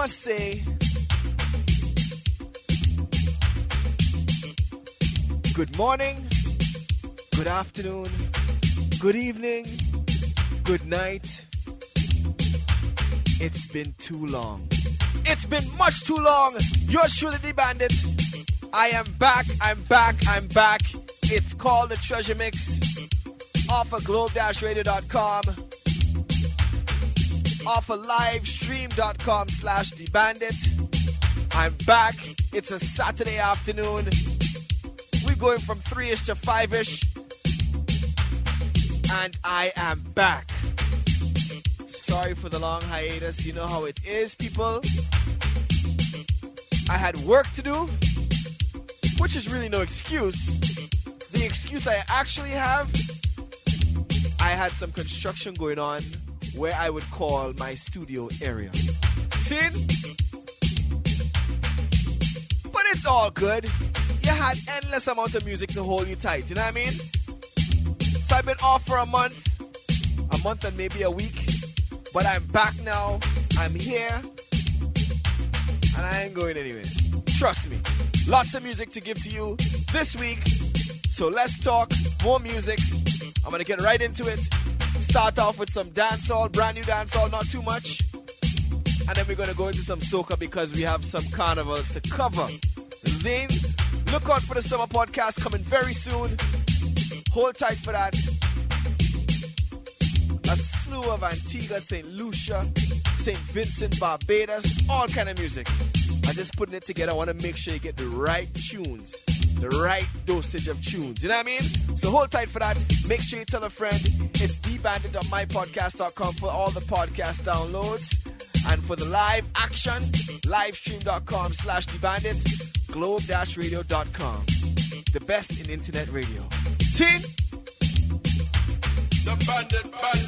must say, good morning, good afternoon, good evening, good night. It's been too long. It's been much too long. Yours truly, the Bandit. I am back. It's called the Treasure Mix. Off of globe-radio.com. Off of livestream.com/thebandit. I'm back. It's a Saturday afternoon. We're going from 3-ish to 5-ish. And I am back. Sorry for the long hiatus. You know how it is, people. I had work to do, which is really no excuse. The excuse I actually have, I had some construction going on where I would call my studio area. See? But it's all good. You had endless amount of music to hold you tight, you know what I mean? So I've been off for a month and maybe a week. But I'm back now, I'm here, and I ain't going anywhere. Trust me. Lots of music to give to you this week. So let's talk more music. I'm going to get right into it. Start off with some dancehall, brand new dancehall, not too much. And then we're going to go into some soca because we have some carnivals to cover. Zane, look out for the summer podcast coming very soon. Hold tight for that. A slew of Antigua, St. Lucia, St. Vincent, Barbados, all kind of music. I'm just putting it together. I want to make sure you get the right tunes, the right dosage of tunes. You know what I mean? So hold tight for that. Make sure you tell a friend. It's thebandit.mypodcast.com for all the podcast downloads. And for the live action, livestream.com/thebandit, globe-radio.com. The best in internet radio. See? The bandit.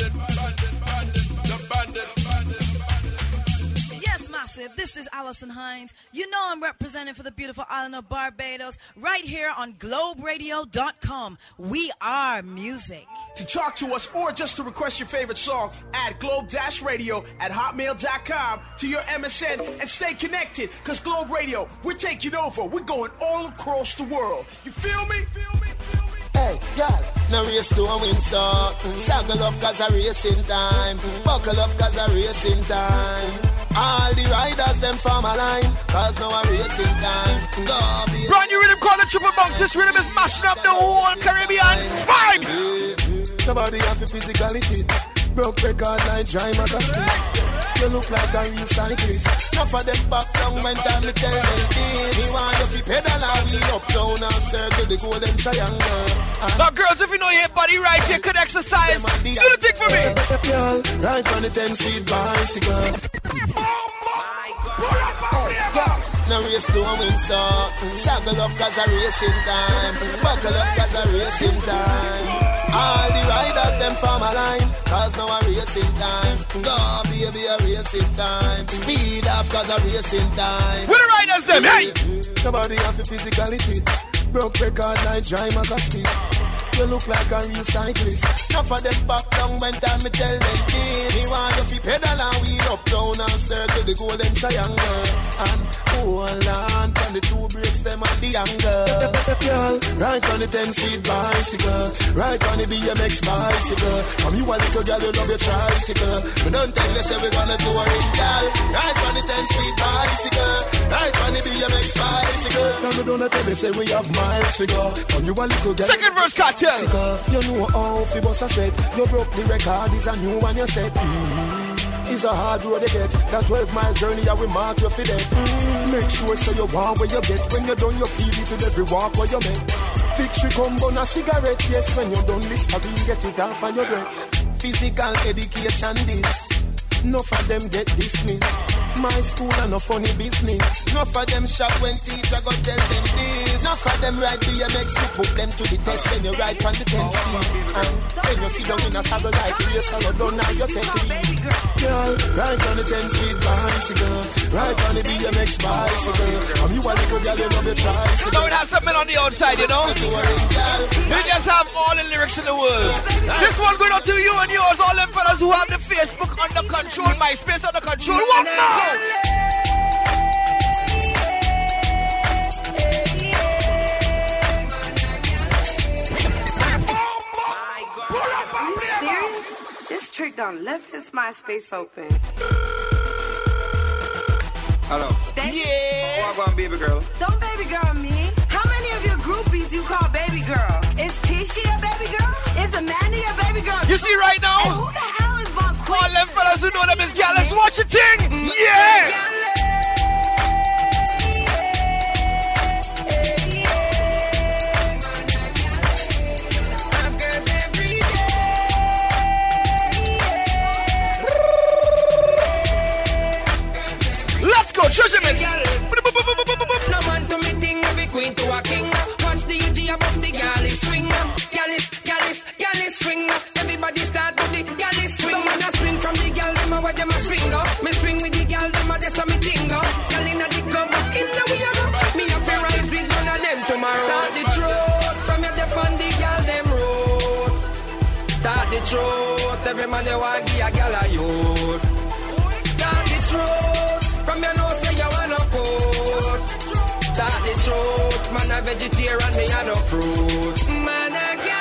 Yes, massive. This is Allison Hines. You know I'm representing for the beautiful island of Barbados right here on globeradio.com. We are music. To talk to us or just to request your favorite song, add globe-radio@hotmail.com to your MSN and stay connected. Because Globe Radio, we're taking over. We're going all across the world. You feel me? Hey, girl, no race to a win, so saddle up cause a racing time. Buckle up cause a racing time. All the riders, them form a line, cause now a racing time. Go be brand new rhythm called the Triple Bunks. This rhythm is mashing up the whole Caribbean vibes. Somebody have a physically fit. Broke record like dry magazine. You look like a real cyclist. Enough of them back down when time me tell them this. Me want you fi pedal and we up down and circle the golden triangle. Now girls, if you know your body right, you could exercise. Do the thing for me. Girl, right on the 10-speed bicycle. Oh my God. No race to a win, so saddle up cause a racing time. Buckle up cause a racing time. All the riders, them form a line, cause now a racing time. Go, baby, a racing time. Speed up, cause a racing time. Where the riders, them, hey! Somebody have to physically fit. Broke record like dry magazine. You look like a real cyclist. Enough of them back down when time me tell them this. Me want you fi pedal and wheel up down and circle the golden triangle. And hold on, on the two brakes, them at the angle. Girl, right on the 10-speed bicycle. Right on the BMX bicycle. From you a little girl, you love your tricycle. But don't tell us say we gonna do it, girl. Right on the 10-speed bicycle. Right on the BMX bicycle. Now we don't tell us say we have miles figure. From you a little girl. Second verse, Cartel. You know how fi bust a sweat. You broke the record, is a new one you set. It's a hard road to get. That 12-mile journey I will mark you for that. Make sure so you want where you get. When you're done you feel it in every walk where you make. Victory come on a cigarette. Yes, when you're done this you get it off on your breath. Physical education this. Enough of them get dismissed. My school and no funny business. Enough of them shot when teacher go tell them this. Enough of them ride BMX, you put them to the test when you ride on the 10 speed. And then you sit down in a saddle like race and you don't know you take lead. Girl, ride on the 10-speed bicycle. Ride on the BMX bicycle. And you a little girl, you love your tricycle. So we have something on the outside, you know. We just have all the lyrics in the world. This one going out to you and yours, all them fellas who have the Facebook under control, MySpace under control. What now? Cedric done left his MySpace open. Hello. Yeah. Walk on, baby girl. Don't baby girl me. How many of your groupies you call baby girl? Is Tisha a baby girl? Is Amanda a baby girl? You see right now? And who the hell is Von Queen? All them fellas who know them is gal, let's watch the thing. Yeah. Let's go, treasure mix. No man to me thing, every queen to a king. Watch the UG above the galley swing. Galley swing. Everybody start to the galley swing. No man a swing from the gal, them a what them a swing. Me swing with the gal, them a that's a me thing. Gal in the club, in the we a go. Me a fi rise with one of them tomorrow. Start the truth, from your dep on the gal, them road. Start the truth, every man they want give a gal a youth. Start the truth, from your nose say you want no coat. Start the truth, man a vegetarian, me a no fruit. Man a gal.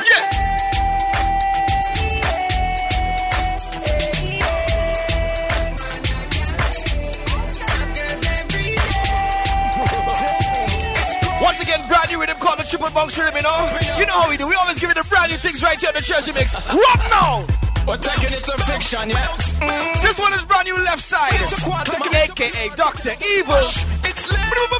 Once again, brand new rhythm called the Triple Bunks Rhythm, you know? You know how we do. We always give you the brand new things right here on the Treasure Mix. What now? We're taking it to fiction, yeah. This one is brand new left side, a.k.a. Dr. Evil. It's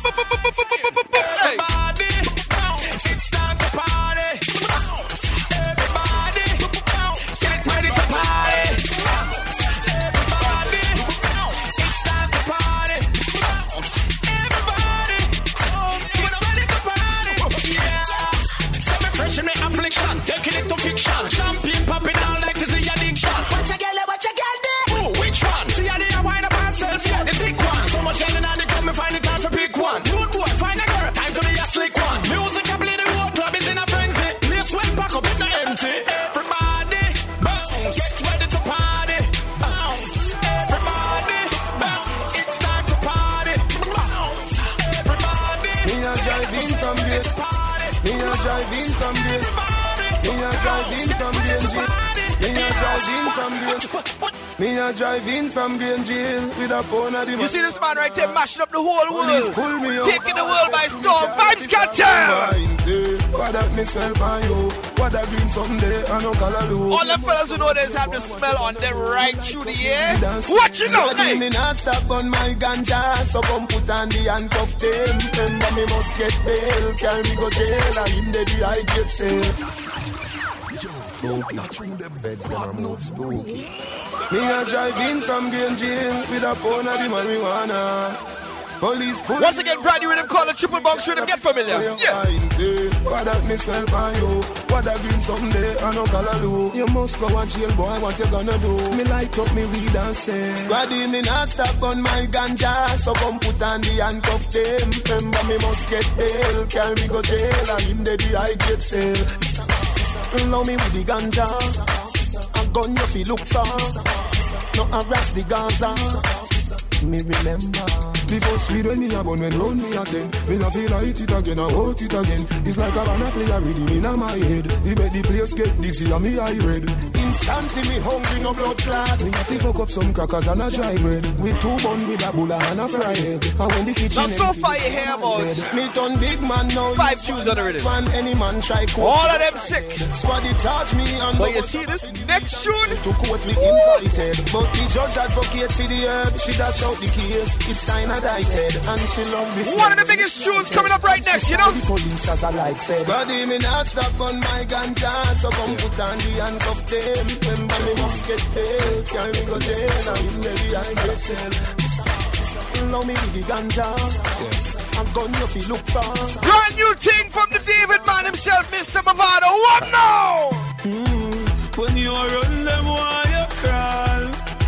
everybody bounce. It's time to party. Bounce. Everybody bounce. Get ready to party. Bounce. Everybody bounce. It's time to party. Bounce. Everybody get ready to party. Yeah. Semi-fresh affliction. Taking it to fiction. Champagne popping out like this is the addiction. Watch a gal there. Oh, which one? See how they wind up herself, yeah, the thick one. So much yelling and they come and find it time for pick one. Dude, boy, find a girl, time to be a slick one. Music I play, the whole club is in a frenzy. Let's went back up, it's not empty. Everybody, bounce, get ready to party. Bounce, everybody, bounce, it's time to party. Bounce, everybody, Me a drive in from this. Me a drive in from this. Me a drive in from Grange. Me a drive in from Grange. Me a drive in from Grange with a phone at the. You see this man right there mashing up the whole world, pull me up, taking the world by storm. Vibes Cartel. What that me smell by you? What that been someday? I know color do. All them fellas who know this have the smell on them right through the air. Watch it out, hey. Me not stop on my ganja, so come put on the handcuff them. Remember me must get bail, carry me go jail, and in the day I get safe. Spooky, the beds them are move spooky. Me a drive in from Grange with a pound of the marijuana. Police pull. Once again, brand new rhythm called the Triple Bunks Rhythm. Get familiar. Yeah. What that me smell by you? What that been someday? I know color do. You must go and jail, boy. What you gonna do? Me light up me weed and say, Squaddy, me not stop on my ganja, so come put on the handcuff them. Remember me must get bail, carry me go jail, and in the day I get sale. Love me with the ganja, a gun you fi look for. No harass the Gaza. Me remember the first weed when me a bun when round me a 10. Me a feel light it again, I hold it again. It's like a banana play a rhythm in my head. He make the place get dizzy and me eye red. Instantly me hungry, no blood clot. Me a fi fuck up some crackers and a dry bread. With 2 bun with a bulla and a fried egg. And when the kitchen now so far you hear about me turn big man now. 5 tunes on the rhythm. One any man try court. All of them sick. Squaddy charge me and but you see this next tune? To court we invited. But the judge advocate for the herb. She dash out the case. It's signed indicted. And she love this. One of the biggest tunes coming up right next, you know? The police as I like said. Squaddy me not stop on my ganja. So come put on the handcuff them. Remember me must get paid. Carry me go jail. And in the I get sell. Love me with the ganja. A gun you fi look for. Brand new thing from the David man himself, Mr. Mavado. What now? When you run them, why you crawl?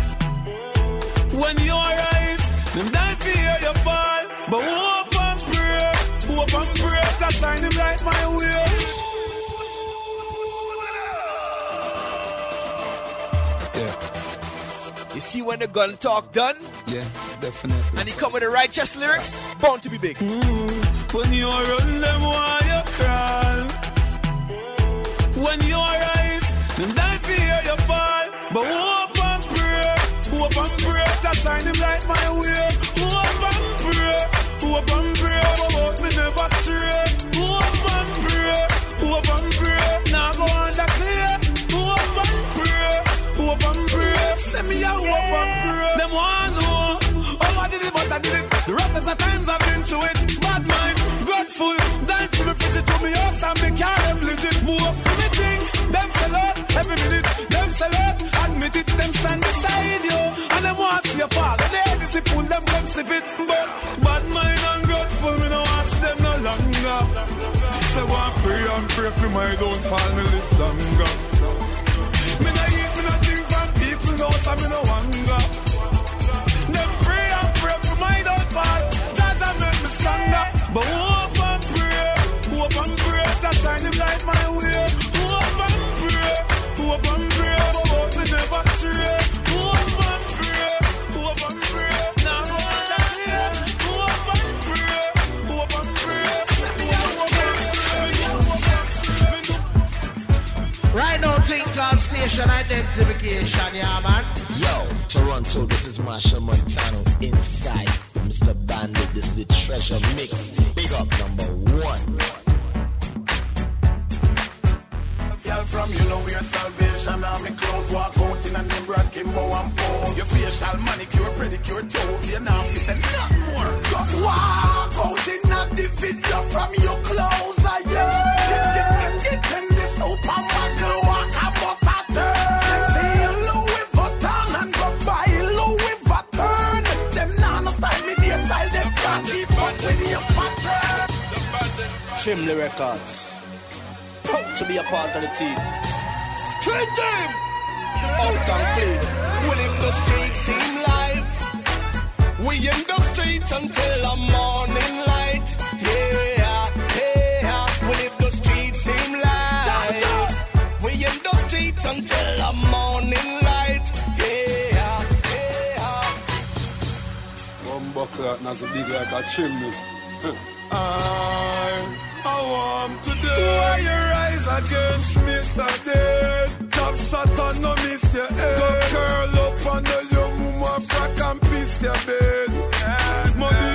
When you rise, them die fear you fall. But hope and pray, to shine them light my way. Yeah. You see when the gun talk done? Yeah, definitely. And he come with the righteous lyrics, bound to be big. When you run them, why you crawl? When you rise, them die fear you fall. But hope and pray for my downfall, me live longer. Me no eat, me no think from people, no, so me no hunger. Them pray and pray for my downfall, Jah make me stronger. But hope and pray to shine him light my way. Hope and pray, but both me never stray. Hope and pray, now hold on here. Hope and pray, Right now, thing called station identification, yeah, man. Yo, Toronto, this is Marshall Montano inside Mr. Bandit. This is the Treasure Mix. Big up number 1. Girl from you know your salvation. I'm a clown walk out in a name brand Kimbo and Paul. Your facial manicure, pedicure, toe. You're not fit and nothing more. Just walk out in a the video from your clothes. I get in this open muggle. Walk above a turn. See Louis Vuitton and go buy Louis Vuitton. Them none of time with your child. Them can't keep up with your pattern. Chimney Records. Proud to be a part of the team. Street team! Out and clean. We live the street team live. We in the streets until the morning light. Yeah. We live the street team live. We in the streets until the morning light. Yeah. One buckler that's a big like a chimney. I want today. Why you rise against me today? Top shot and no miss your head. Go curl up under your mama frack and piss your bed. Money,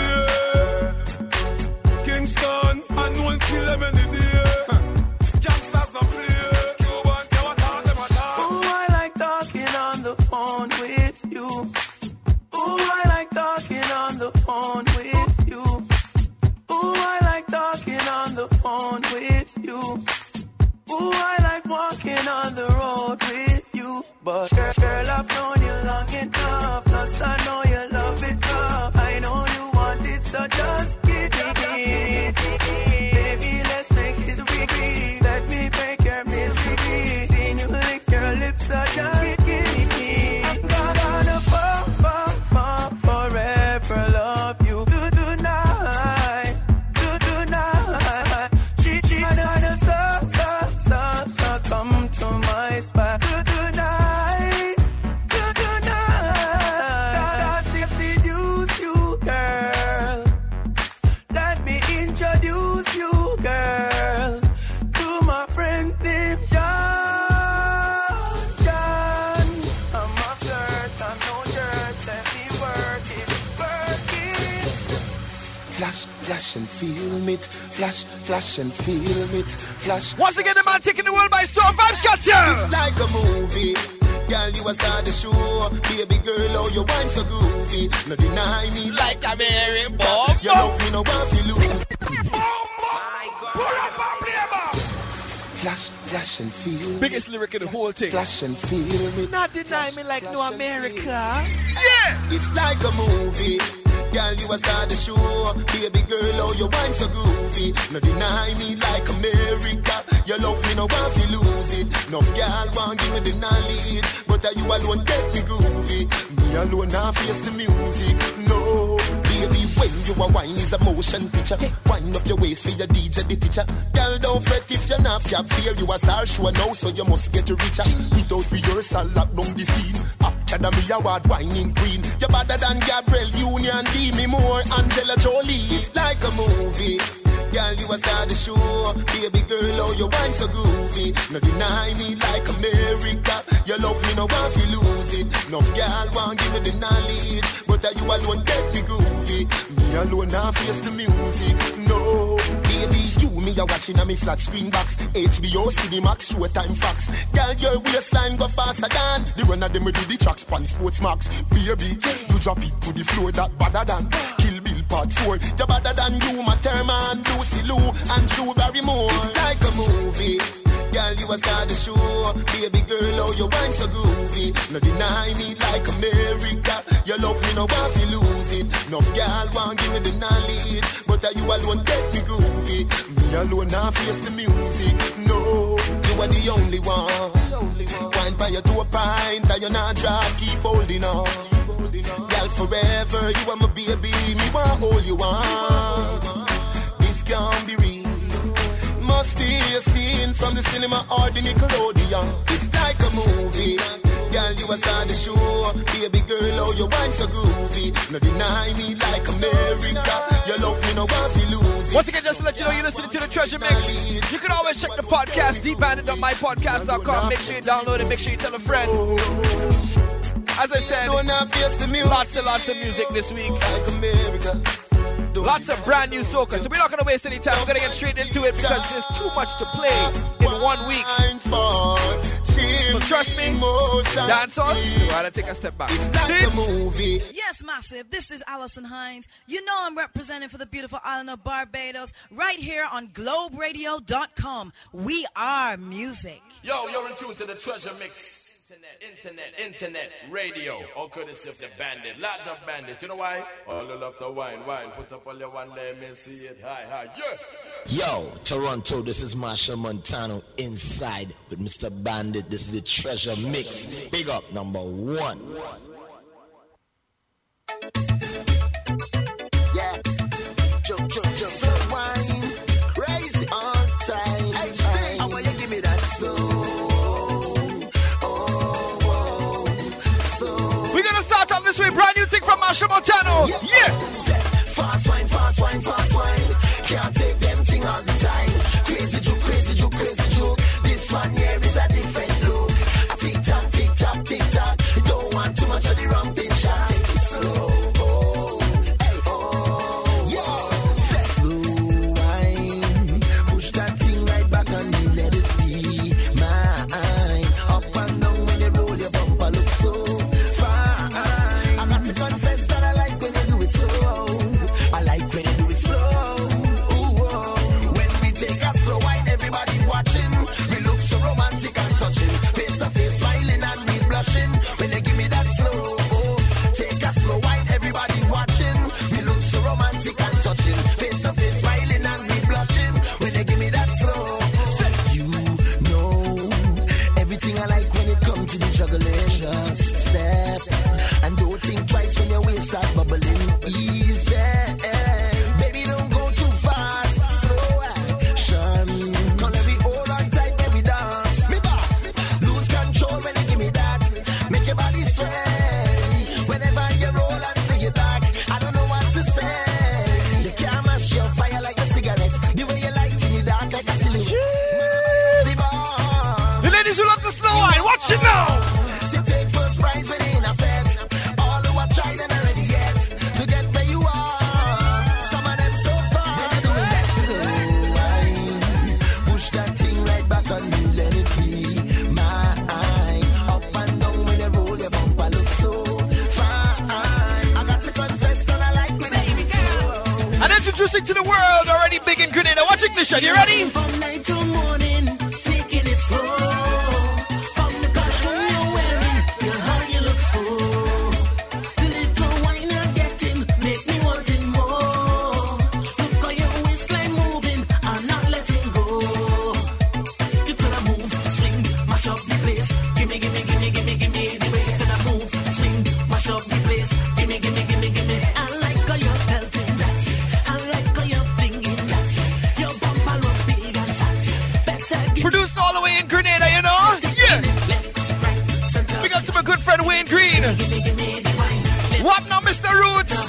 Kingston, and one kill them any day. Gangsters no play. Cuban, they what all them attack. Oh, I like talking on the phone with you. Oh, I like talking on the phone with you. Oh, I like talking on the phone with you. Oh, I like walking on the road with you. But girl, I've known you long enough. Plus, I know you love it tough. I know you want it, so just give me. Baby, let's make history. Let me break your misery. Seen you lick your lips, so just give me. I'm gonna fall forever love you. Tonight. She gonna so come to my spot. Tonight. That seduce you, girl. Let me introduce you, girl, to my friend named John. I'm a flirt, I'm no jerk. Let me work it. Flash and film it. Flash and film it. Flash. Once again, the man taking the world by storm. Vibes got you. It's like a movie. Girl, you a star the show. Baby girl, oh, you wine so groovy. No deny me like a Mary Bob. You love me, no one feel lose. Pull up and play back. Flash and feel. Biggest lyric in the whole thing. Flash and feel me. Not deny me like no America. Yeah. It's like a movie. Girl, you a star the show. Baby girl, oh, you wine so groovy. No deny me like America. You love me, no one feel lose it. Enough girl want give me the knowledge, but you alone get me groovy. Me alone now face the music. No, baby, when you a wine is a motion picture. Wind up your waist for your DJ, the teacher. Girl, don't fret if you're not cap fear. You a star show now, so you must get richer. Without rehearsal, lock down the scene. Academy Award whining queen. You're better than Gabrielle Union, Demi Moore, Angela Jolie. It's like a movie. Girl, you a star the show. Baby girl, oh, you wine so groovy. No deny me like America. You love me, no one feel lose it. Enough girl want give me the knowledge, but you alone get me groovy. Me alone now face the music. No, baby, you me a watching on me flat screen box. HBO, Cinemax, Showtime, Fox. Girl, your waistline go faster than the one of them we do the tracks pan Sports Max. Baby, you drop it to the floor that better than Kill Bill Part 4. You better than you, my Thurman, Lucy Lou, and Drew Barrymore. It's like a movie. Girl, you you a star the show. Baby girl, oh, you wine so groovy. No deny me like America. Your love me, no want to lose it. Enough girl want give me the knowledge, but you alone get me groovy. Me alone now face the music. No, you are the only one. Wine by your to a pint, and you're not dry. Keep holding on. Girl, forever, you are my baby. Me want hold you on. This can't be real. Must be a scene from the cinema or the Nickelodeon. It's like a movie. Girl, you a star the show. Baby girl, oh, you wine so groovy. No deny me like America. Your love me, no want to lose it. Once again, just to let you know, you're listening to the Treasure Mix. You can always check the podcast, dbandit.mypodcast.com. Make sure you download it, make sure you tell a friend. As I said, lots and lots of music this week. Like America. Lots of brand new soca. So we're not going to waste any time. We're going to get straight into it because there's too much to play in 1 week. So trust me, dance on. Why don't I take a step back? It's like a movie. Yes, Massive. This is Alison Hines. You know I'm representing for the beautiful island of Barbados right here on globeradio.com. We are music. Yo, you're in tune to the Treasure Mix. Internet, radio, all courtesy of the Bandit, large of Bandit. You know why? All you love to wine. Put up all your one, let me see it. Hi, yeah. Yo, Toronto, this is Machel Montano inside with Mr. Bandit. This is the Treasure Mix. Big up, number 1. Yeah, just wine, crazy on time. HD, I want you give me that soul. This way, brand new thing from Machel Montano. Yeah. Fast wine. Can't take them thing all the time. Crazy juke. This one here is a different look. A tick tock. You don't want too much of the ramping shot. Take it slow. Slow wine. Push that thing right back on me. Let it be mine. Up and down when you roll your bumper look so. Confess that I like when you do it slow. I like when you do it slow. Ooh, when we take a slow wine, everybody watching. We look so romantic and touching. Face to face, smiling and me blushing. When you give me that slow, take a slow wine, everybody watching. We look so romantic and touching. Face to face, smiling and me blushing. When you give me that slow, you know everything I like when it comes to the juggling. Just step. And don't think twice when your waist start bubbling. Easy, baby, don't go too fast. Slow action. Come let me hold on tight, baby, dance. Me back, lose control when you give me that. Make your body sway. Whenever you roll and sing it back, I don't know what to say. You can't mash your fire like a cigarette. The way you light in the dark like a silhouette. The ladies who love the slow wine, watch it now. Take first prize when in a fete. All who are tried and already yet to get where you are. Some of them so far. They're doing that slow wine. Push that thing right back on me. Let it be mine. Up and down when you roll your bumper look so fine. I got to confess that I like when you do it slow. And introducing to the world already big in Grenada. Watch Ignition. You ready? From night till morning, taking it slow. Produced all the way in Grenada, you know? Yeah. Big up to my good friend Wayne Green. What now, Mr. Roots?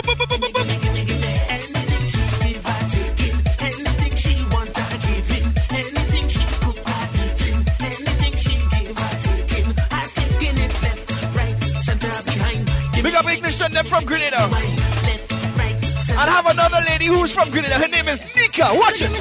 Big up Ignition, them from Grenada. And I have another lady who's from Grenada. Her name is Nika. Watch it.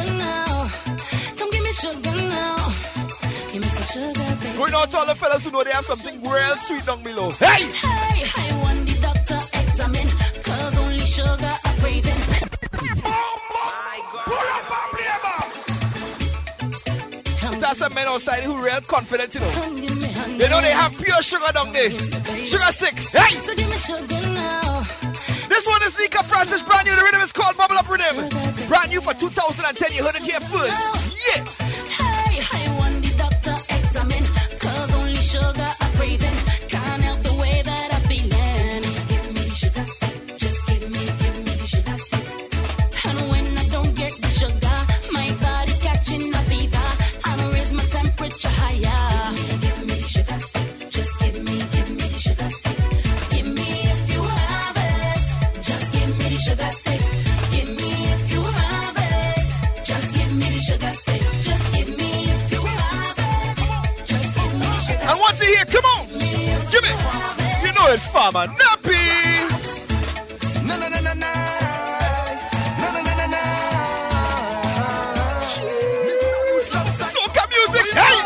Going out to all the fellas who know they have something real sweet down below. Hey! I want the doctor examine, cause only sugar are craving. Pull up and play, man! It has are some men outside who real confident, you know. You know they have pure sugar down there. Sugar stick. Hey! So give me sugar now. This one is Nika Francis, brand new. The rhythm is called Bubble Up Rhythm. Brand new for 2010. You heard it here first. Yeah! Hey, I want the doctor examine. Cause only sugar I'm craving. Can't help the way that I'm feeling. Give me the sugar stick. Just give me the sugar stick. And when I don't get the sugar, my body catching a fever. I'll raise my temperature higher. Give me the sugar stick. Just give me the sugar stick. Give me if you have it. Just give me the sugar stick. Give me if you have it. Just give me the sugar stick. Just give me if you have it. Just give me the sugar stick. I want to hear, come on! Give me! You know it's Farmer Nappy! Na na na na na. Na na na na na. Soca music, hey!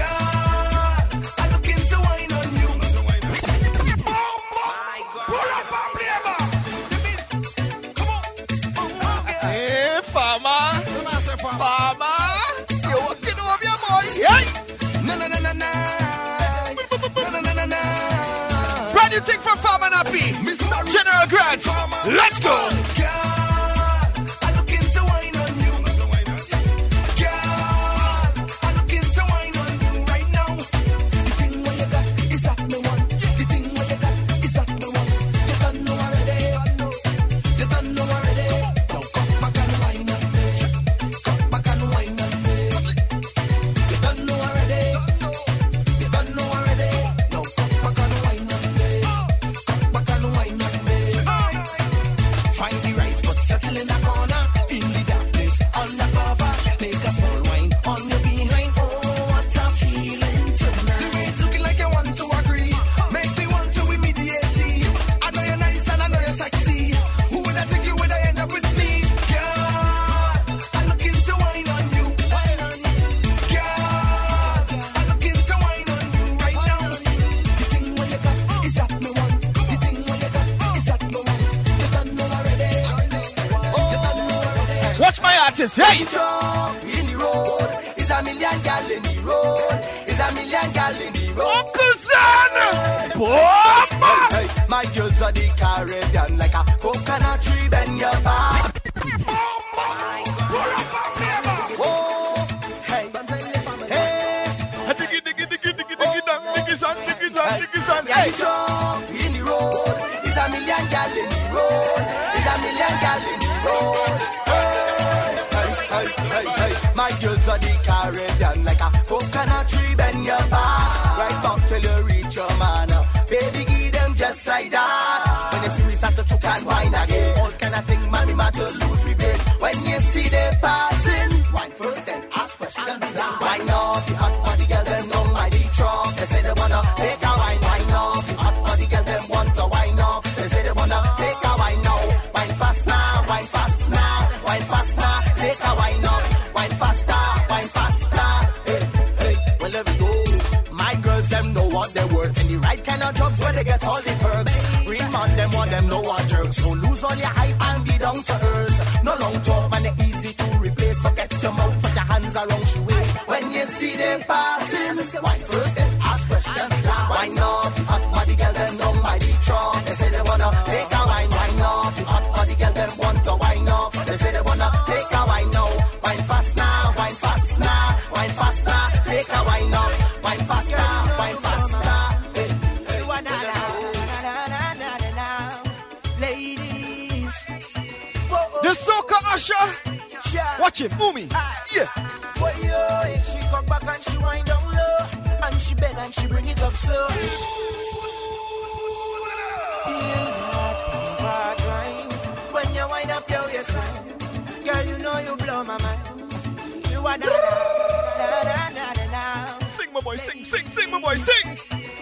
I look into wine on you. Hey, Farmer! Farmer! You're walking over your boy, hey! Na na na na na. Na na na na na. Brand new thing from Farmer Nappy! General Grant! Let's go! I look into wine on you. Girl, I look into wine on you right now. The thing what you got is that me want. The thing what you got is that me want. You don't know already. You don't know already. Now come back and wine on me. Come back and wine on me. You don't know already. You don't know already. Now come back and wine on me. Come back and wine on me. Find the rights, but settle in the corner. In the darkness, undercover. Take a small wine on your behind. Oh, what a feeling tonight. The way it's looking like you want to agree. Make me want to immediately. I know you're nice and I know you're sexy. Who would I think you would I end up with me? Girl, I look into wine on you. Girl, I look into wine on you right now. The thing what you got is that me want. The thing what you got is that me want. You don't know already. You don't know already. Watch my artist, hey! In the road, is a million gal in the road. Is a million gal in the road. Uncle Zan! Bomba! Hey, my girls are the Caribbean like a coconut tree bend your back. Oh, hey, hey, Diggy, diggy, diggy, diggy, diggy, dang, diggy, san, diggy, san, diggy, san, hey, hey! in the road, is a million gal in the road. Is a million gal in the road. Hey, my girls are the Caribbean like a coconut tree bend your back. Right back till you reach your man. Baby, give them just like that. When you see me start to choke and wine again, all kind of thing, man, we matter lose we brain. When you see they passing, wine first, then ask questions. Wine off the hot body girl, them know my deep truck. They say they wanna take a wine, wine off the hot body girl, them want to wine off. They say they wanna take a wine now, wine fast now, wine fast now, wine fast now, take a wine up, wine faster, wine faster. Hey, hey, well there we go. My girls them know what they worth in the right kind of jobs where they get all the perks. Real man them want them know what jerks. So lose all your hype and be down to earth. No long talk man, they easy to replace. Forget your mouth, put your hands around your waist. When you see them passing, wine first, then ask questions. Wine up, hot body girl them know my deep truck. They say they wanna take a wine, wine up. Hot body girl them want to wine up. They say they wanna take a wine now, wine fast now, wine fast now, wine fast now. Take a wine up, wine fast now, wine fast now. Hey, hey, ladies, The Soca Usher! Watch him, Umi! Yeah! boy, yo, she come back and she wind down low, and she bend and she bring it up slow. When you wind up your waistline, girl, you know you blow my mind. You are da Sing, my boy, sing, sing, sing, my boy, sing!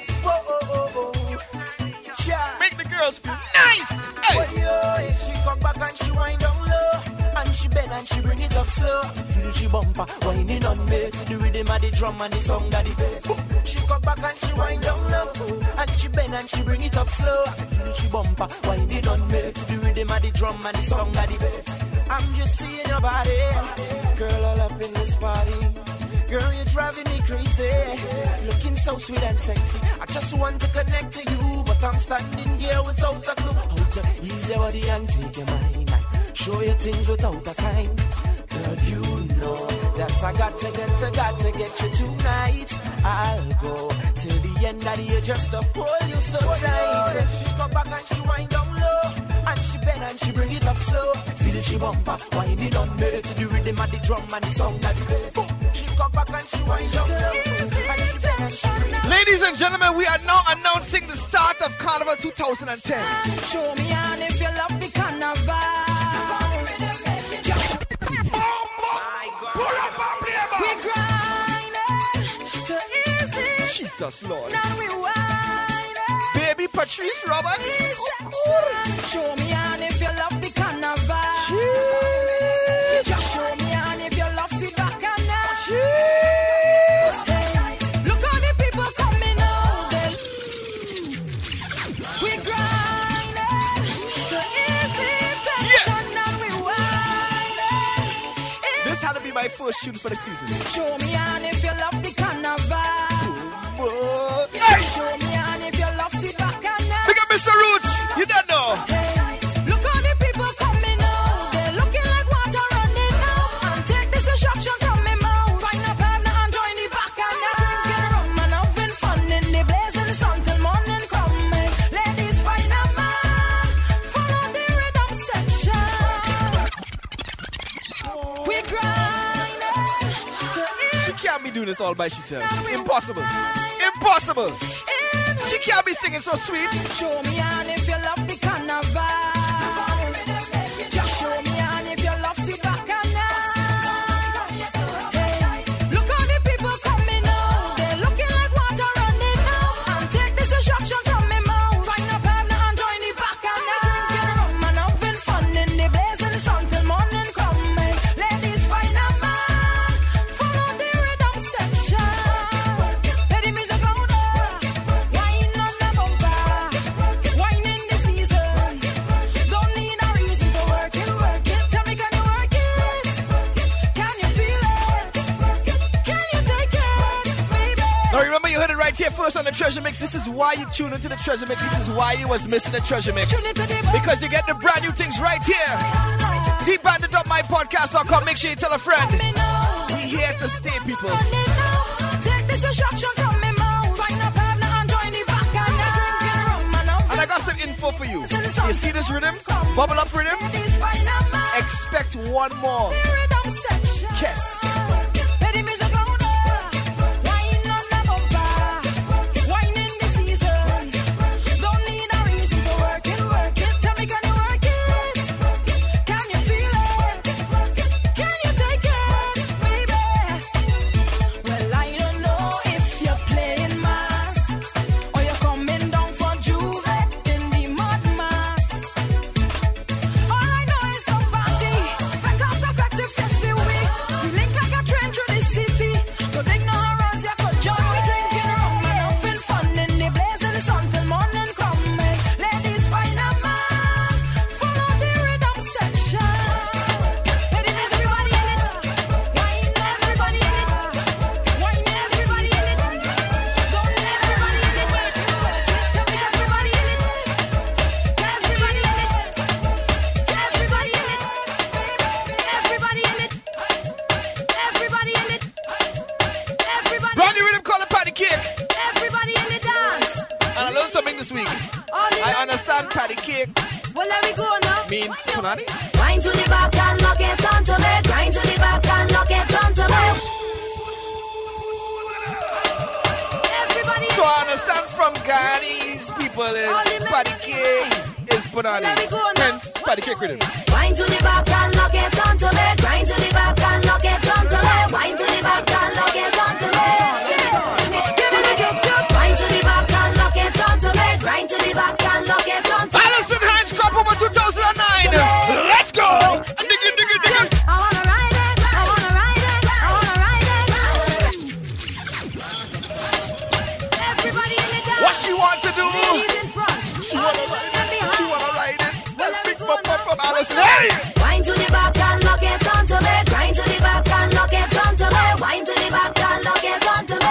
Make the girls feel nice! Hey! Well, yo, she come back and she wind down low, and she bend and she bring it up slow. Feel she bumper whining on me to the rhythm of the drum and the song that the bass. She come back and she wind down low, and she bend and she bring it up slow. Feel she bumper whining on me to the rhythm of the drum and the song that the bass. I'm just seeing your body, girl, all up in this party. Girl, you're driving crazy. Looking so sweet and sexy. I just want to connect to you, but I'm standing here without a clue. How to ease your body and take your mind and show you things without a sign. Girl, you know that I got to get you tonight. I'll go till the end of the year just to hold you so tight. She come back and she wind down low, and she bend and she bring it up slow. Feel it, she bumper, wind it on me to the rhythm of the drum and the song that they play. She come back and she wind down low, and she bend and she bring it up. Ladies and gentlemen, we are now announcing the start of Carnival 2010. Show me on if you love the carnival. We're grinding to ease this. Jesus Lord. Now we whining. Baby Patrice Roberts. Show me on if you love the carnival. Just show me on if you love sweet bacchanal. Hey, look how the people coming out. We're grinding to ease the tension. Now we whining. This had to be my first tune for the season. Show me on if you love the carnival. Hey. Show me on if you love sweet bacchanal. Pick up Mr. Roots. You don't know. Hey, look how the people coming out. They're looking like water running out. And take this instruction from me mouth. Find a partner and join the bacchanal. Drinking rum and having fun in the blazing sun till morning coming. Ladies, find a man. Follow the rhythm section. We grinding to She can't be doing this all by herself. Impossible. Impossible. She can't be singing so sweet. Show me on if you love the carnival. Just show me on if you love sweet bacchanal. Hey, look how the people coming out. They're looking like water running out. And take this instruction from me mouth. Find a partner and join the bacchanal. Drinking rum and having fun in the blazing sun till morning coming. Ladies, find a man. Follow the rhythm section. Let the music go down. Wine on the bumper. Wine in the season. Don't need a reason to work it, work it. Tell me, can you work it? Can you feel it? Can you take it, baby? Now remember, you heard it right here first on the Treasure Mix. This is why you tune into the Treasure Mix. This is why you was missing the Treasure Mix. Because you get the brand new things right here. DeepBandit.mypodcast.com. Make sure you tell a friend. We here to stay, people. Take this instruction from me mouth. Find a partner and join the bacchanal. Drinking rum and And I got some info for you. You see this rhythm? Bubble up rhythm? ladies, find a man. Expect one more. The rhythm section. Yes. Let the music go down. Wine on the bumper. Wine in the season. Don't need a reason to work it, work it. Tell me, can you work it? Can you feel it? Can you take it, baby? Well, I don't know if you're playing mass or you're coming down for Juve in the mud mass. All I know is the party. Fact after fact, if you see we link like a train through the city. Don't ignore us, you could join me drinking rum and having fun in the blazing sun till morning coming. Ladies, find a man. Follow the rhythm section. Ladies, everybody in it. Wine, everybody in it. Wine, everybody in it. Don't let everybody in it. Tell me, everybody in it. Everybody in it. Everybody in it. Everybody in it. Everybody in it. Everybody. Brand new rhythm called a patty cake. Everybody in the dance. And I learned something this week. I understand patty cake Well, let me go now. means punani. Grind to the back and lock it onto me. Grind to the back and lock it onto me. Everybody. So I understand from Ghanai's people is patty cake is punani. Hence patty cake rhythm. Grind to the back and lock it onto me. Grind to the back and lock it onto me. Wind to the back and lock it onto me. Grind to the back and lock it onto me. Grind to the back and lock it onto me. Alison Hinds Cup over 2009. Let's go. Dig it, dig it, dig it. I wanna ride it. I wanna ride it. I wanna ride it. Everybody in the dance. What she want to do? Ladies in front. She wanna ride it. She wanna ride it. Let's big bump up from Alison. Hey! Wind to the back and lock it onto me. Grind to the back and lock it onto me. Wind to the back and lock it onto me.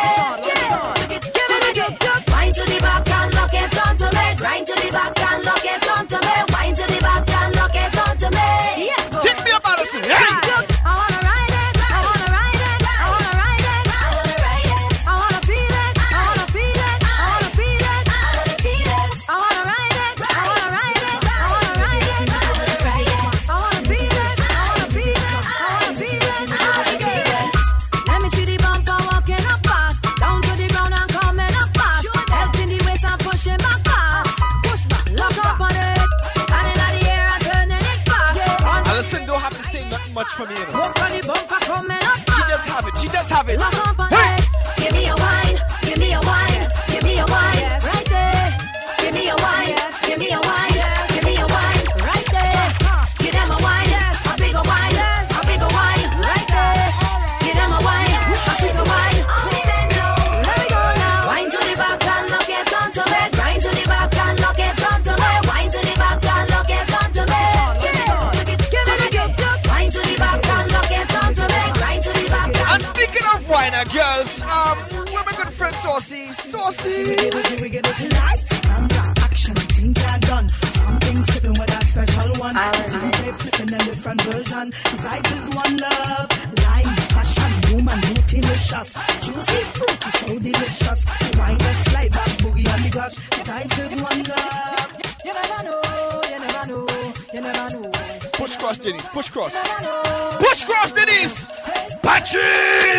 Alright now, girls. Where my good friend Saucy? Saucy! Lights, action, think you're done. Something sipping with that special one. DJ flipping a different version. The vibes is one love. Lime, fashion, woman, delicious. Juicy, fruity, so delicious. The wine that slide back, boogie on the gush. The vibes is one love. You never know, you never know, you never know. Push cross, Denise, push cross. Push cross, Denise! Patches!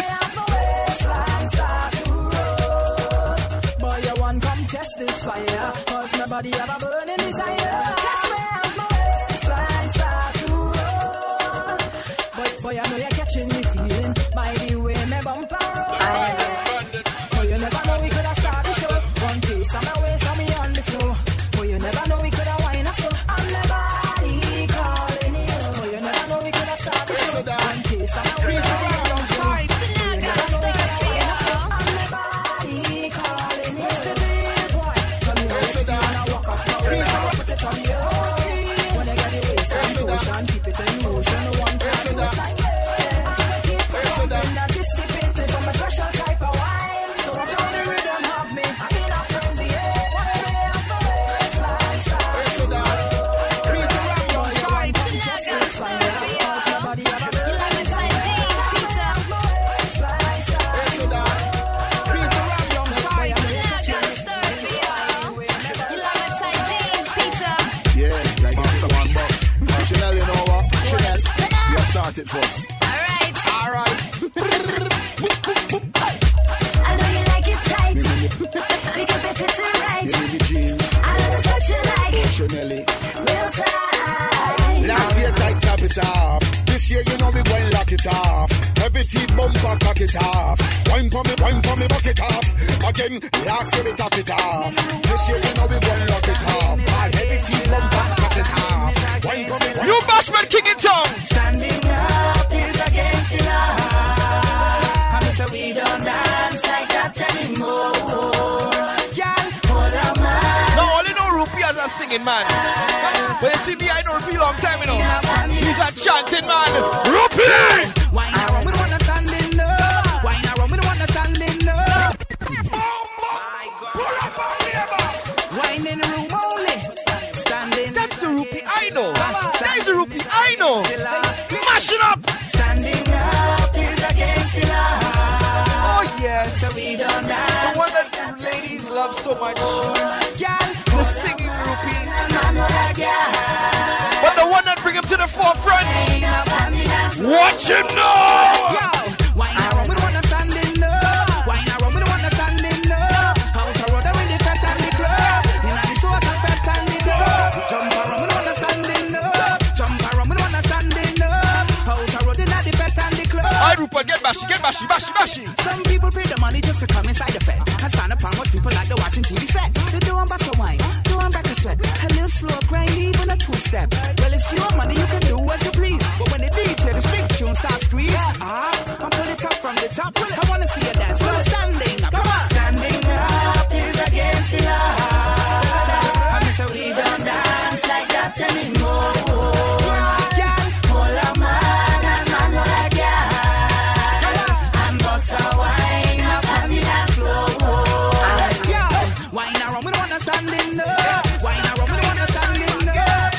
Boy, you want come test this fire. Cause my body have a burning desire. Test me as my waistline start to roll. But boy, I know you're catching me feeling by the way my bumper roll. Boy, you never know we could have started the show. One taste on my waist on me on the floor. Boy, you never know we could have wine us so. I'm never calling you. Boy, you never know we could have started the show. One taste on my waist on me on the floor. Boy, you never know we could have wine us so. I'm never calling you. What's the deal, boy? Tell me how you feel when I walk up. Put it on you. When I get the waist and motion, keep it in motion. One time, two time. Keep it going, anticipating from a special type of wine. So watch how the rhythm have me. I'm in a frenzy, yeah. Watch me as the waistline start. Reach around your side. Just this fire. Cause my body have a burn. You like my side jeans, pizza. Waistline start. Reach around your side. You like my tight jeans, pizza. Yeah, like it's the one box. Chanel, you know what? Chanel, you started first. Alright. Alright. I know you like it tight. Because they fit it right. Give me the jeans. I know that's what you like. Chanel. Real tight. Last year, tight top it off. This year, you know we going lock it off. Every feet bumper, cock it off. Wine for me, buck it off. Again, last year we top it off. This year, you know we going lock it off. And every feet bumper, cock it off. Wine for me, You Bashman King in town! Standing up is against the law. I'm so we don't dance like that anymore. Girl, hold on, man. Now all you know Rupi as a singing man. But you see me, I know Rupi long time, you know. He's a chanting man. Rupi! Wine around, we don't wanna stand in love. Wine around, we don't wanna stand in love. Wine in the room only. Standing. That's the Rupi I know. That is the Rupi I know. Mash it up! Standing up is against the law. Oh yes. So we don't The dance. one that ladies love so much. Girl, The singing Rupi. man, like yeah. But the one that bring him to the forefront. Watch him now! Yo, wine around, we don't wanna stand in love. Wine around, we don't wanna stand in love. Out the road, with the fat and the club. In the soca, fat and the club. Jump around, we don't wanna stand in love. Jump around, we don't wanna stand in love. Out the road, in the fat and the club. Alright, Rupert, get bashy. Some people pay the money just to come inside the fed and stand upon what people like to watching TV set. They do on bust a wine, do on back a sweat. A little slow grind, even a two-step. Well, it's your money, you can do as you please. But when the DJ, the big tune starts squeeze, I'm pull it up from the top. I wanna see you dance. So standing up, come on. Standing up is against the law. I'm so we don't dance like that anymore. Girl, hold on, man, and man will like yeah. And bust a wine up on the dance floor. Wine around, we don't wanna stand in love. Wine around, we don't wanna stand in love.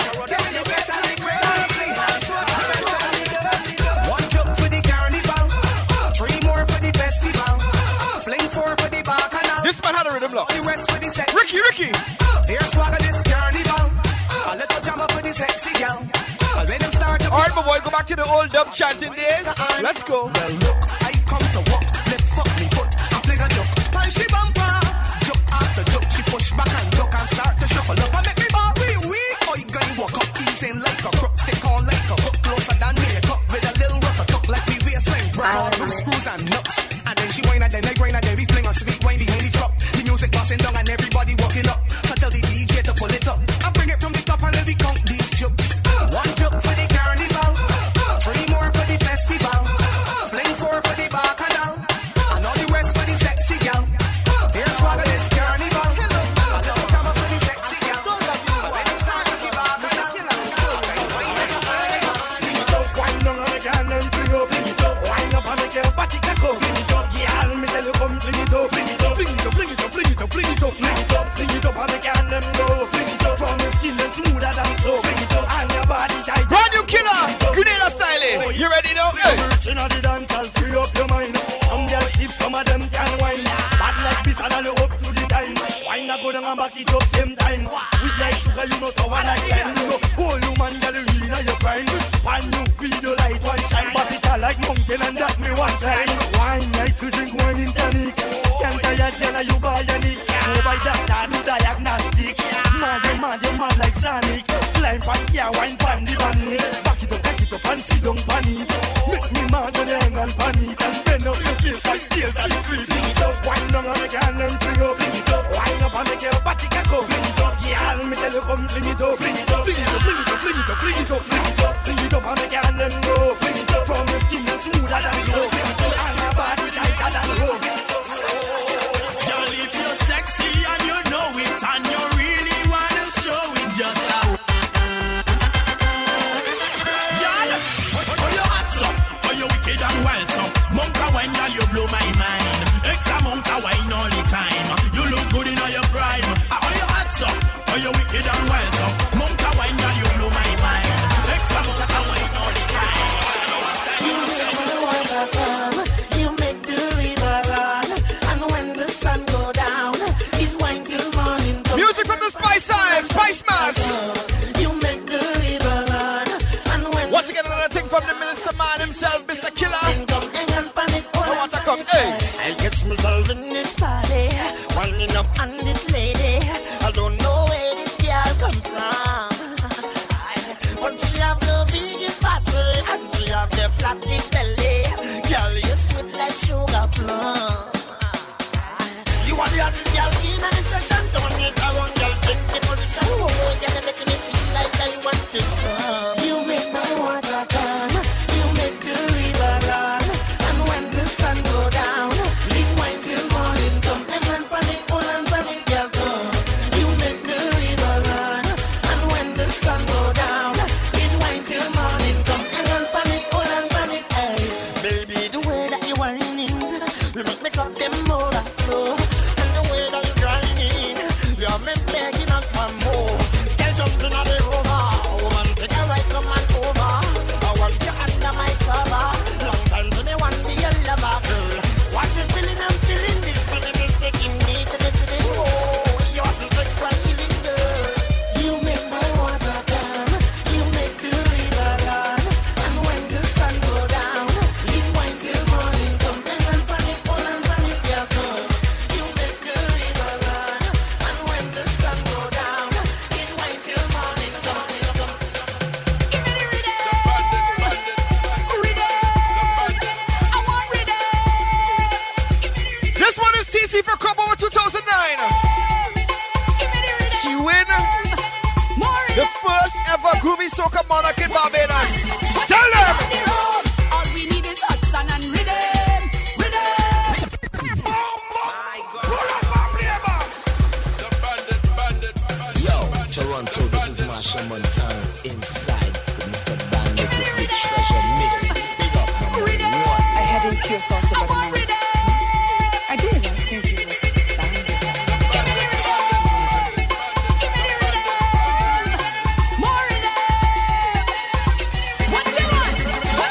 One jump for the carnival, 3 more for the festival, fling 4 for the bacchanal. This man had a rhythm, look. The rest for the sex. Ricky. Here's swagger this carnival, a little jammer for the sexy gal. And when them start to Alright, my boy, go back to the old dub chanting days. Let's go. well, look, I come to walk, left foot me foot, I fling a duck, punch she bumper, jump after jump, she push back and duck and start to shuffle up and make me bar wee. Oh, you gonna walk up, easing like a crook, stick on like a hook, closer than makeup, with a little rubber tuck like we waistline, rock all loose screws and nuts, and then she whine and then I grind and then we fling a sweet wine behind the truck, the music passing down and everybody walking up, so tell the DJ to pull it up, and bring it from the top and let me count these jokes. 1 joke for the carnival, 3 more for the festival, fling 4 for the if some of them can wine. Bad like this and all up to the time. Wine a go down and back it up same time. With like sugar, you know so I like lime. You know, whole human girl you in your prime. One new video light one shine, but it a like mountain and that me one time. Wine like you drink wine in tonic. Can't tired girl you buy a nick. No by doctor do diagnostic. Mad like Sonic. Climb pan here, wine pan the bunny. Back it up and sit down pan it. Make me mad when you hang on pan it. And bend up your face like tears and creep. Fling it up, wine down and make your hand and fling up. Fling it up, wine up and make your body can go. Fling it up, yeah, me tell you come fling it up. Fling it up, fling it up, fling it up, fling it up, fling it up, fling it up. Fling it up and make your hand and go. Fling it up from the skin smoother than soap. Fling it up and your body tighter than rope. Girl, if you're sexy and you know it and you really wanna show it, just how. Girl, oh you hot so, oh you wicked and wild so. Monk a wine, girl, you blow my mind. Extra monk a wine all the time. You look good in all your prime. Oh you hot so, oh you wicked and wild so. Monk a wine, girl, you blow my mind. Extra monk a wine all the time. You make the water come, you make the river run, and when the sun go down, it's wine till morning. Music from the Spice Science, Spice Mass. You make the river run, and when once again another thing from the minister man himself, Mr. Killer. I want to come, hey. I get myself in this party, winding up on this lady. I don't know where this girl come from, but she have the biggest bottle and she have the flattest belly. Girl, you sweet like sugar plum. You are the hottest girl in the session. Don't need a one girl take the position. Oh, you're making me feel like I want to come. You make my water come, you make the river run, and when the sun go down, it's wine till morning come. And panic, all and panic, girl come. You make the river run, and when the sun go down, it's wine till morning come. And panic, all and panic, hey. Baby, the way that you whining, you make up them overflow. And the way that you grinding, you're me begging up for more. Girl, jumping on the rover, woman, take a right, come on over. I want you under my cover. Long time to me want be your lover, girl. What you feeling? I'm feeling this feeling is taking me to the feeling. Oh, you're the sexual healing, girl. You make my water come, you make the river run, and when the sun go down, it's wine till morning come. And panic, all and panic, yeah, come. You make the river run, and when the sun go down, it's wine till morning come. Give me the rhythm, I want rhythm. This one is TC for Crop Over 2009. She win the first ever Groovy Soca Monarch in Barbados. Tell them! All we need is hot sun and rhythm, rhythm. Yo, Toronto, this is Marsha Montana inside with Mr. Bandit with the treasure mix. Big up, number one. I had impure thoughts about a man. I did. I think he was Bandit. More rhythm. What you want?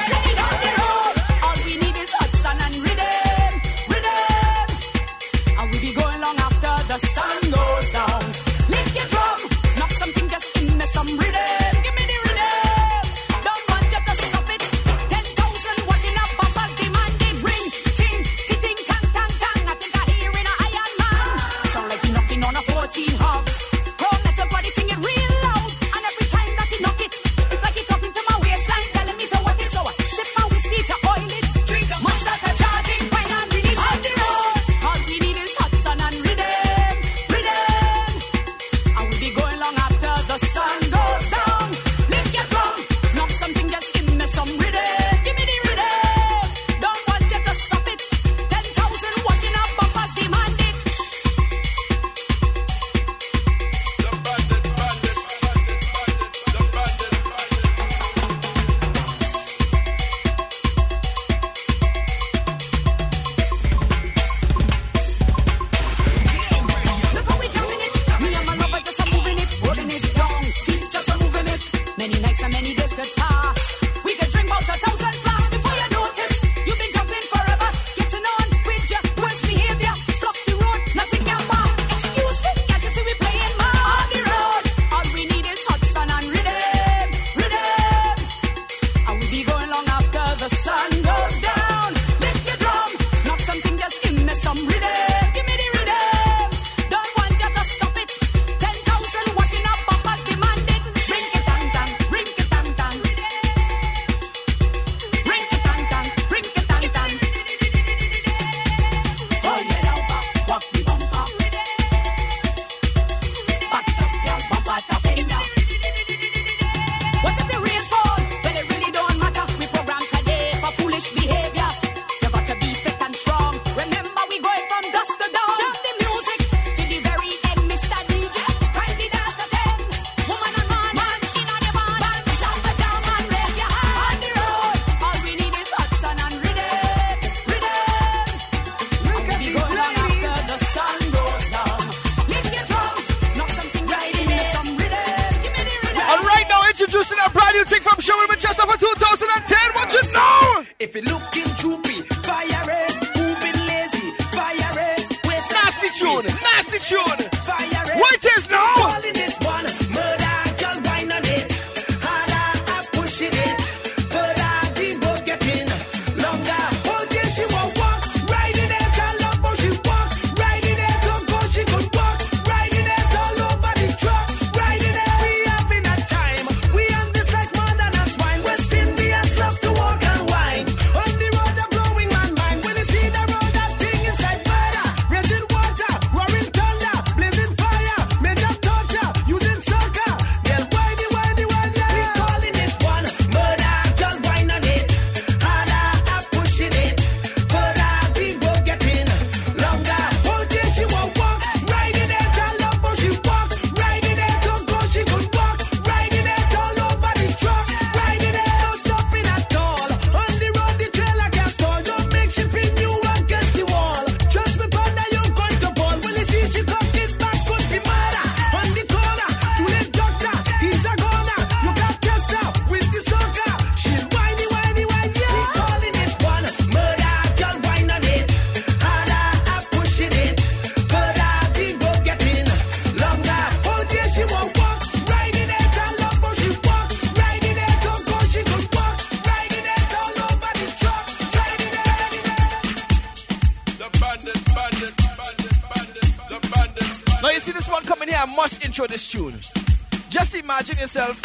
If you're looking droopy, fire it. Moving lazy, fire it. Nasty tune, nasty tune. Fire it. What it is now? Calling this one murder, girl, wine on it. Harder, I'm pushing it. Further, the boat getting longer. Whole day she won't walk. Riding it all over, she walk. Riding it don't go, she could walk. Riding it all over the truck. Riding it, we having a time. We on this like more than a swine. West Indians love to walk and wine. On the road, I'm blowing my mind. When you see the road, that thing is like murder. Raging water, roaring thunder, blazing fire, major torture, using soccer. They'll whiny, whiny, whiny. We calling this one murder, just wine on it. Harder, I'm pushing it. Further, the boat getting longer. Whole day she won't walk. Riding it all over, she walk. Riding it don't go, she could walk. Riding it all over the truck. Riding it, no stopping at all. On the road, the trailer can't stall. Don't make she pin you against the wall. Trust me, partner, you're going to fall. When you see she come this back, could be murder. On the corner, to the doctor, he's a goner. You got test her with the soccer. She's whiny, whiny, whiny. We calling this one murder, just wine on it. Harder, I'm pushing it. Further, the boat getting longer. Whole day she won't walk. Riding it all over, she walk. Riding it don't go, she could walk. Riding it all over the truck. Riding it. The bandit, the bandit. Now you see this one coming here, I must intro this tune. Just imagine yourself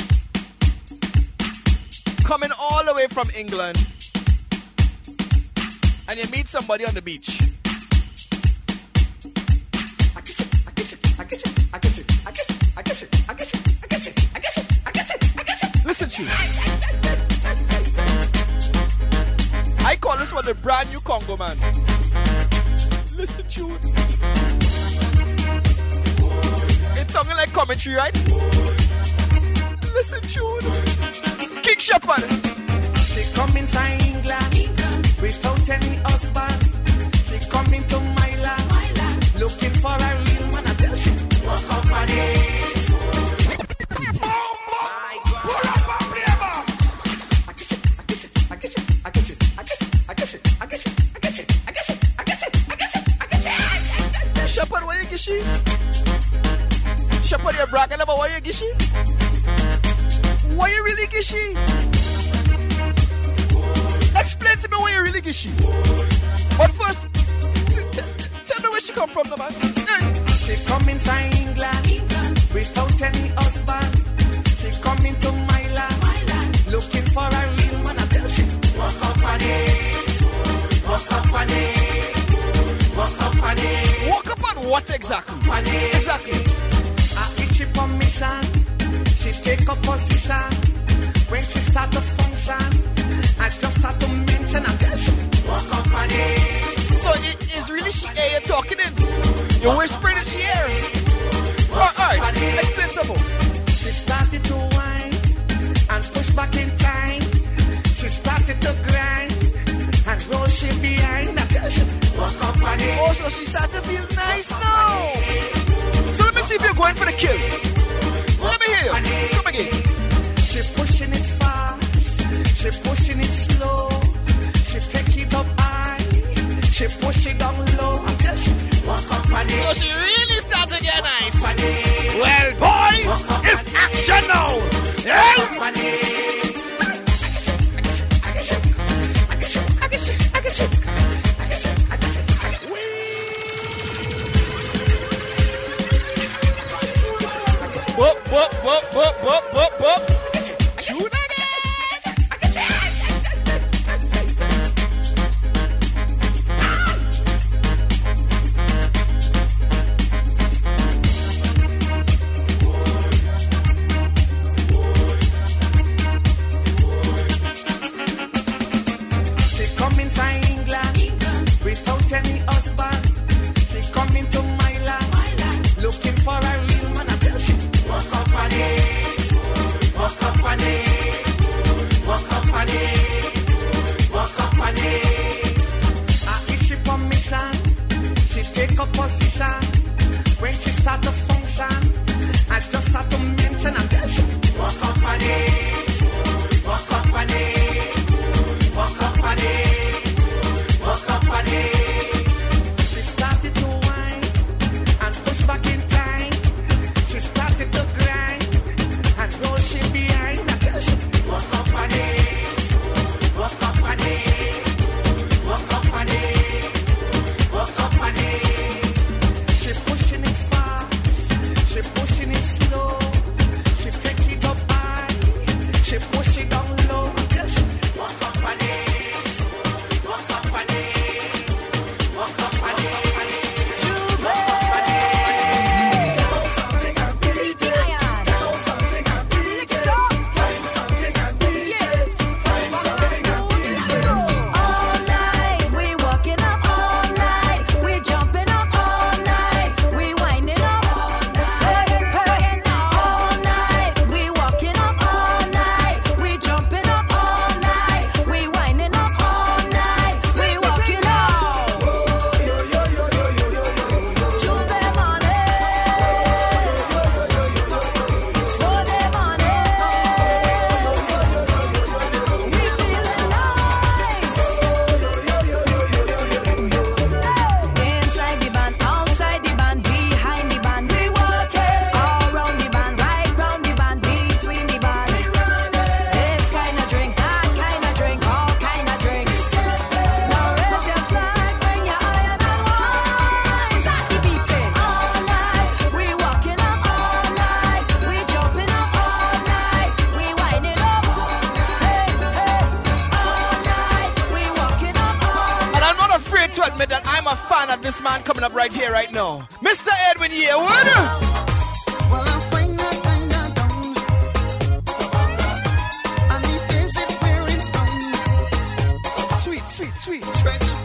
coming all the way from England and you meet somebody on the beach. Listen to you. I call this one the brand new Congo man. Listen to you. It's something like commentary, right? Listen to you. King Shepherd. She coming from England without any husband. She coming to my land looking for a real man. I tell she walk up on it. Shepherd, why you gishi? Shepherd, you're bragging about why you gishi? Why you really gishi? Explain to me why you really gishi. But first, tell me where she come from, no man. She coming from England without any husband. She coming to my land looking for a real man. I tell she walk up on it, walk up on it, walk up on it. Walk up on what exactly? Exactly. I issue permission. She take a position. When she start to function, I just start to mention. I tell she walk up on it. So it is really she air you're talking in? You're whispering in she air? Alright, explain some more. She started to whine and push back in time. She started to grind and roll she behind. I tell she walk up on it. Oh, so she started to feel nice now. So let me see if you're going for the kill. Let me hear you. Come again. She pushing it fast. She pushing it slow. She take it up high. She push it down low. I tell she walk up on it. So she really started to get nice. Well, boy, it's action now. Yeah? Whoop, whoop, whoop, whoop, whoop, whoop, whoop. Shoot She coming from England without any husband. She coming to my land looking for a real man. I tell she walk up on it, walk up on it, walk up on it, walk up on it. I issue permission. She take a position. When she start to function, I just start to mention. I tell she walk up on it, walk up on it, walk up on it. afraid to admit that I'm a fan of this man coming up right here, right now. Mr. Edwin Yearwood. Well, I find that down. And he face it wearing down. Sweet, sweet, sweet. Stretch